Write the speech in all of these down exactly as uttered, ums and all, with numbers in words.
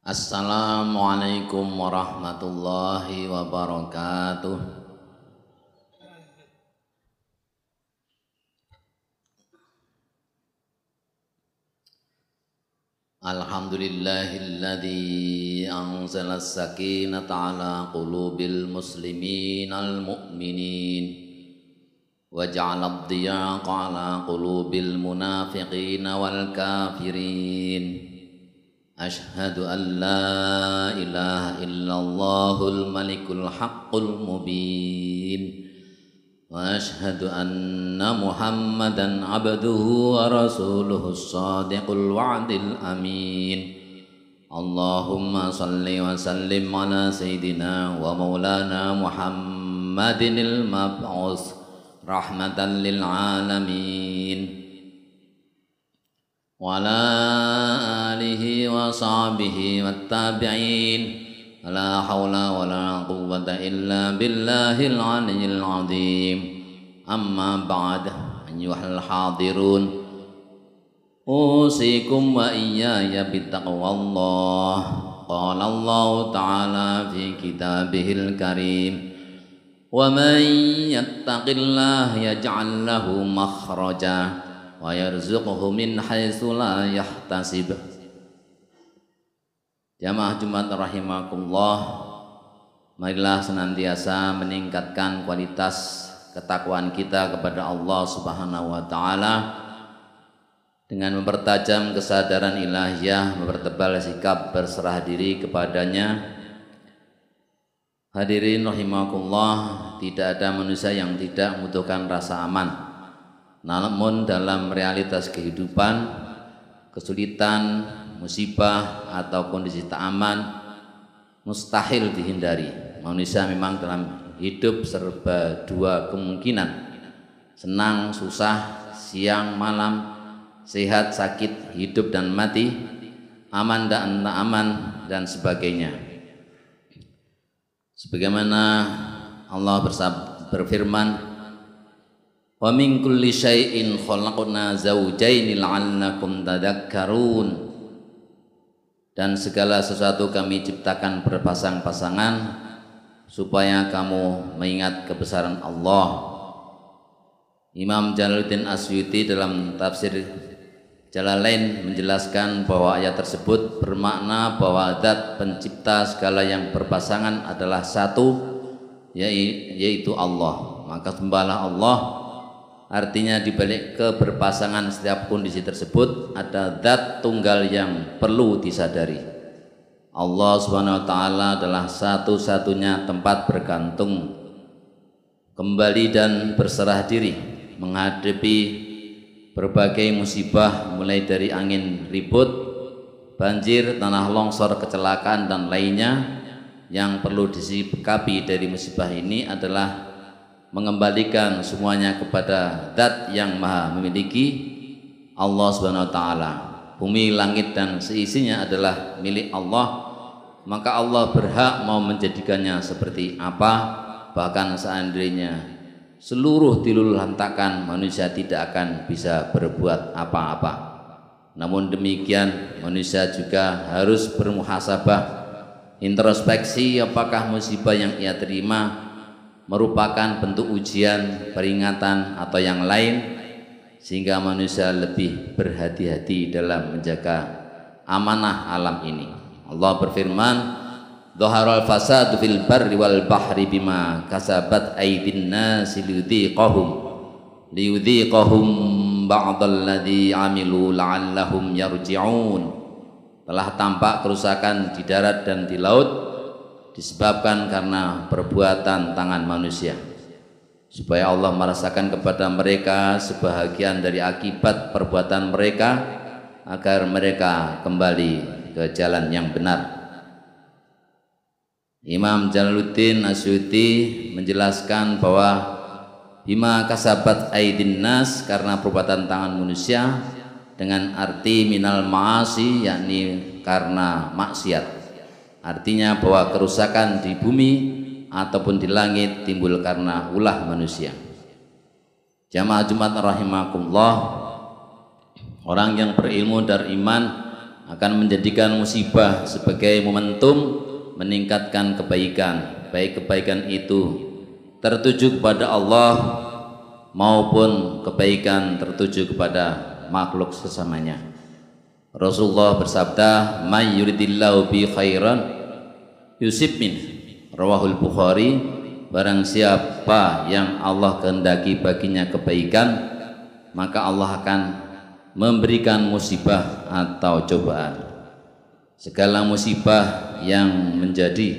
Assalamualaikum warahmatullahi wabarakatuh. Alhamdulillahilladzi anzala as-sakinata ala qulubil muslimin al-mu'minin wa ja'ala ad-diyaqa ala qulubil munafiqin wal kafirin. Ashhadu an la ilaha illallahul malikul haqqul mubin wa ashhadu anna muhammadan abduhu wa rasuluhu as-sadiqul wa'dil amin. Allahumma salli wa sallim ala sayyidina wa maulana muhammadinil mab'us rahmatan lil alamin wa ala alihi wa sahbihi wattabi'in. La hawla wa la quwwata illa billahil aliyyil azim. Amma ba'd, ayyuhal hadirun, usikum wa iyaya bittaqwallah. Qala Allah ta'ala fi kitabihil karim, wa man yattaqillaha yaj'al lahu makhraja wa yarzuqhu min haitsu la yahtasib. Jamaah Jumat rahimakumullah, marilah senantiasa meningkatkan kualitas ketakwaan kita kepada Allah Subhanahu wa taala dengan mempertajam kesadaran ilahiyah, mempertebal sikap berserah diri kepadanya. Hadirin rahimakumullah, tidak ada manusia yang tidak membutuhkan rasa aman. Namun dalam realitas kehidupan, kesulitan, musibah atau kondisi tak aman mustahil dihindari. Manusia memang dalam hidup serba dua kemungkinan, senang, susah, siang, malam, sehat, sakit, hidup dan mati, aman dan tak aman dan sebagainya. Sebagaimana Allah berfirman, wa min kulli syai'in khalaqna zawjaini la'allakum tadhakkarun. Dan segala sesuatu kami ciptakan berpasang-pasangan supaya kamu mengingat kebesaran Allah. Imam Jalaluddin Asyuti dalam tafsir Jalalain menjelaskan bahwa ayat tersebut bermakna bahwa zat pencipta segala yang berpasangan adalah satu, yaitu Allah. Maka sembahlah Allah. Artinya dibalik keberpasangan setiap kondisi tersebut ada zat tunggal yang perlu disadari. Allah Subhanahu wa taala adalah satu-satunya tempat bergantung, kembali dan berserah diri menghadapi berbagai musibah, mulai dari angin ribut, banjir, tanah longsor, kecelakaan dan lainnya. Yang perlu disikapi dari musibah ini adalah mengembalikan semuanya kepada zat yang maha memiliki, Allah Subhanahu wa taala. Bumi, langit dan seisinya adalah milik Allah, maka Allah berhak mau menjadikannya seperti apa. Bahkan seandainya seluruh diluluhlantakan, manusia tidak akan bisa berbuat apa-apa. Namun demikian manusia juga harus bermuhasabah, introspeksi apakah musibah yang ia terima merupakan bentuk ujian, peringatan atau yang lain, sehingga manusia lebih berhati-hati dalam menjaga amanah alam ini. Allah berfirman, "Dhaharal fasadu fil barri wal bahri bima kasabat aydin nasi liyudhiqahum liyudhiqahum ba'dalladzi 'amilu la'allahum yarji'un." Telah tampak kerusakan di darat dan di laut disebabkan karena perbuatan tangan manusia, supaya Allah merasakan kepada mereka sebahagian dari akibat perbuatan mereka, agar mereka kembali ke jalan yang benar. Imam Jalaluddin Asyuti menjelaskan bahwa bima kasabat aidin nas, karena perbuatan tangan manusia, dengan arti minal ma'asi, yakni karena maksiat. Artinya bahwa kerusakan di bumi ataupun di langit timbul karena ulah manusia. Jamaah Jumat rahimakumullah, orang yang berilmu dan iman akan menjadikan musibah sebagai momentum meningkatkan kebaikan, baik kebaikan itu tertuju kepada Allah maupun kebaikan tertuju kepada makhluk sesamanya. Rasulullah bersabda, "May yuridillahu bi khairan yusib min." Rawahul Bukhari. Barang siapa yang Allah kehendaki baginya kebaikan, maka Allah akan memberikan musibah atau cobaan. Segala musibah yang menjadi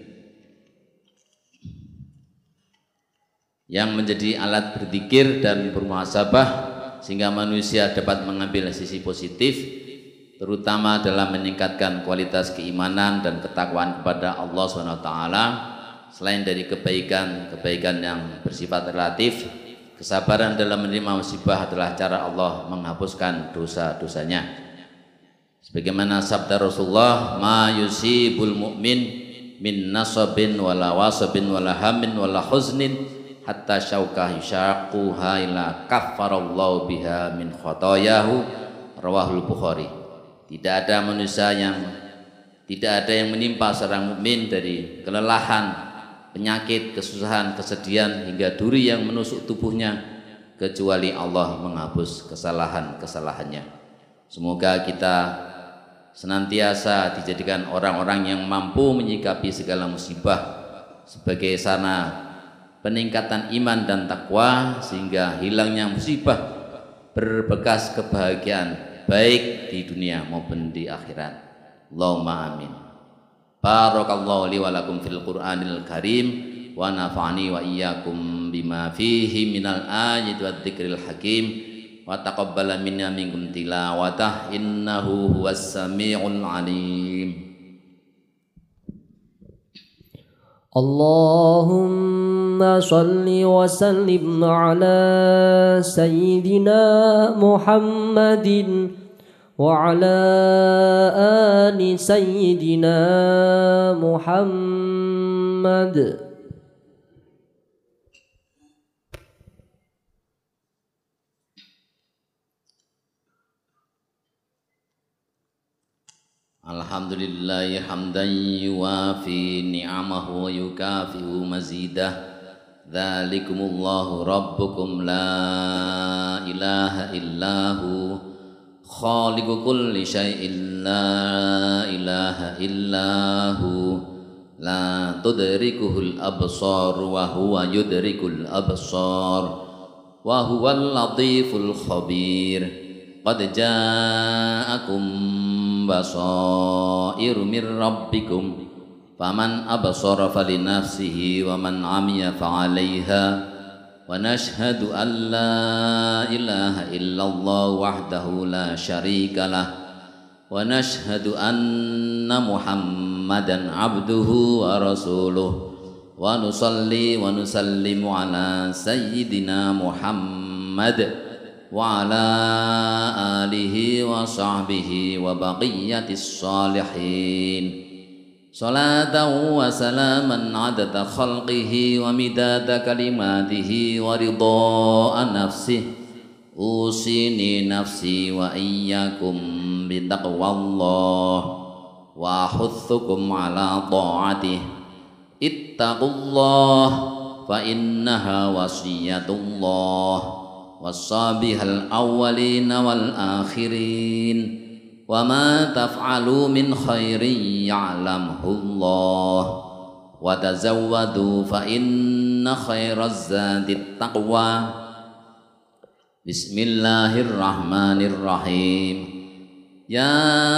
yang menjadi alat berzikir dan bermuhasabah sehingga manusia dapat mengambil sisi positif, terutama dalam meningkatkan kualitas keimanan dan ketakwaan kepada Allah subhanahu wa taala. Selain dari kebaikan-kebaikan yang bersifat relatif, kesabaran dalam menerima musibah adalah cara Allah menghapuskan dosa-dosanya. Sebagaimana sabda Rasulullah, "Ma yusibul mu'min min nasabin wala wasabin wala hamin wala huznin hatta syaukah yushaquha ila kaffarallahu biha min khotoyahu." Rawahul Bukhari. Tidak ada manusia yang tidak ada yang menimpa seorang mukmin dari kelelahan, penyakit, kesusahan, kesedihan hingga duri yang menusuk tubuhnya kecuali Allah menghapus kesalahan-kesalahannya. Semoga kita senantiasa dijadikan orang-orang yang mampu menyikapi segala musibah sebagai sarana peningkatan iman dan takwa sehingga hilangnya musibah berbekas kebahagiaan baik di dunia maupun di akhirat. Allahumma amin. Barakallahu li wa lakum fil Qur'anil Karim wa nafa'ani wa iyyakum bima fihi minal ayati wa dzikril hakim wa taqabbala minna minkum tilawatah innahu huwas samiul alim. Allahumma salli wa sallim ala sayyidina Muhammadin wa ala ali sayyidina Muhammad. Alhamdulillahi hamdan yuwafi ni'amahu wa yukafi'u mazidah. Dzalikumullahu rabbukum la ilaha illahu khaliqu kulli syai'in la ilaha illahu la tudrikuhul absar wa huwa yudrikul absar wa huwal latiful khabir. Qad ja'akum basairu mir rabbikum faman absara falinafsihi wa man 'amiya fa'alaiha wa nashhadu an la ilaha illallah wahdahu la syarika lah wa nashhadu anna muhammadan abduhu wa rasuluh wa nusalli wa nusallimu ala sayyidina Muhammad wa ala alihi wa sahbihi wa baqiyatis salihin. Salatan wa salaman adada khalqihi wa midada kalimatihi wa ridha'a nafsihi. Usini nafsi wa iyyakum bitaqwallah wa ahuthukum ala ta'atih. Ittaqullah fa innaha wasiyatullah wasabihal awwalina wal akhirin wa ma taf'alu min khairin ya'lamhu Allah wa tazawwadu fa inna khairaz zadit taqwa. Bismillahirrahmanirrahim. Ya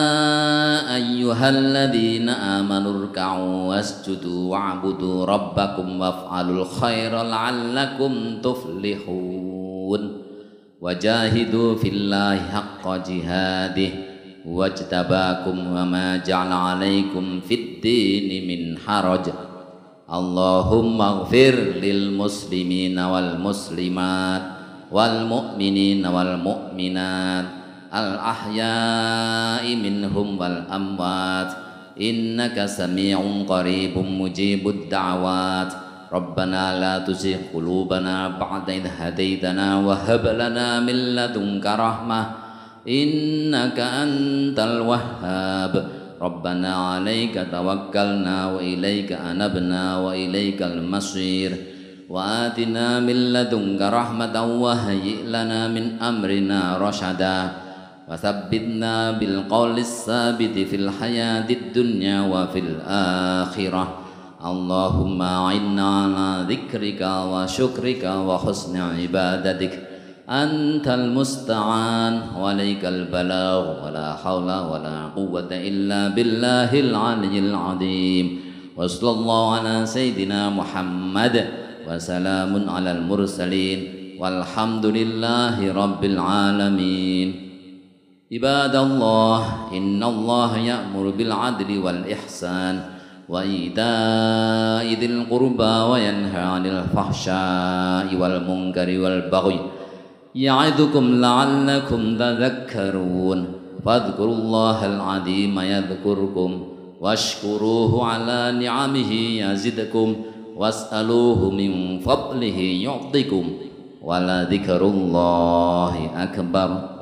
ayyuhalladzina amanu ruk'u wasjudu wa'budu rabbakum waf'alul khaira la'allakum tuflihun. Wajahidu fillahi haqqa jihadih wajtabakum wa ma ja'ala alaikum fid dini min haraj. Allahumma ighfir lil muslimina wal muslimat wal mu'minina wal mu'minat al ahya'i minhum wal amwat innaka sami'un qaribun mujibud da'wat. Rabbana la tuzigh qulubana ba'da idh hadaitana wa hab lana min ladunka rahmah إنك أنت الوهاب ربنا عليك توكلنا وإليك أنبنا وإليك المصير وآتنا من لدنك رحمة وهيئ لنا من أمرنا رشدا وثبتنا بالقول الثابت في الحياة الدنيا وفي الآخرة اللهم أعنا على ذكرك وشكرك وحسن عبادتك أنت المستعان وعليك البلاغ ولا حول ولا قوة إلا بالله العلي العظيم وصلى الله على سيدنا محمد وسلام على المرسلين والحمد لله رب العالمين عباد الله إن الله يأمر بالعدل والإحسان وإيتاء ذي القربى وينهى عن الفحشاء والمنكر والبغي يعظكم لعلكم تذكرون فاذكروا الله العظيم يذكركم واشكروه على نعمه يزدكم واسألوه من فضله يعطكم ولذكر الله أكبر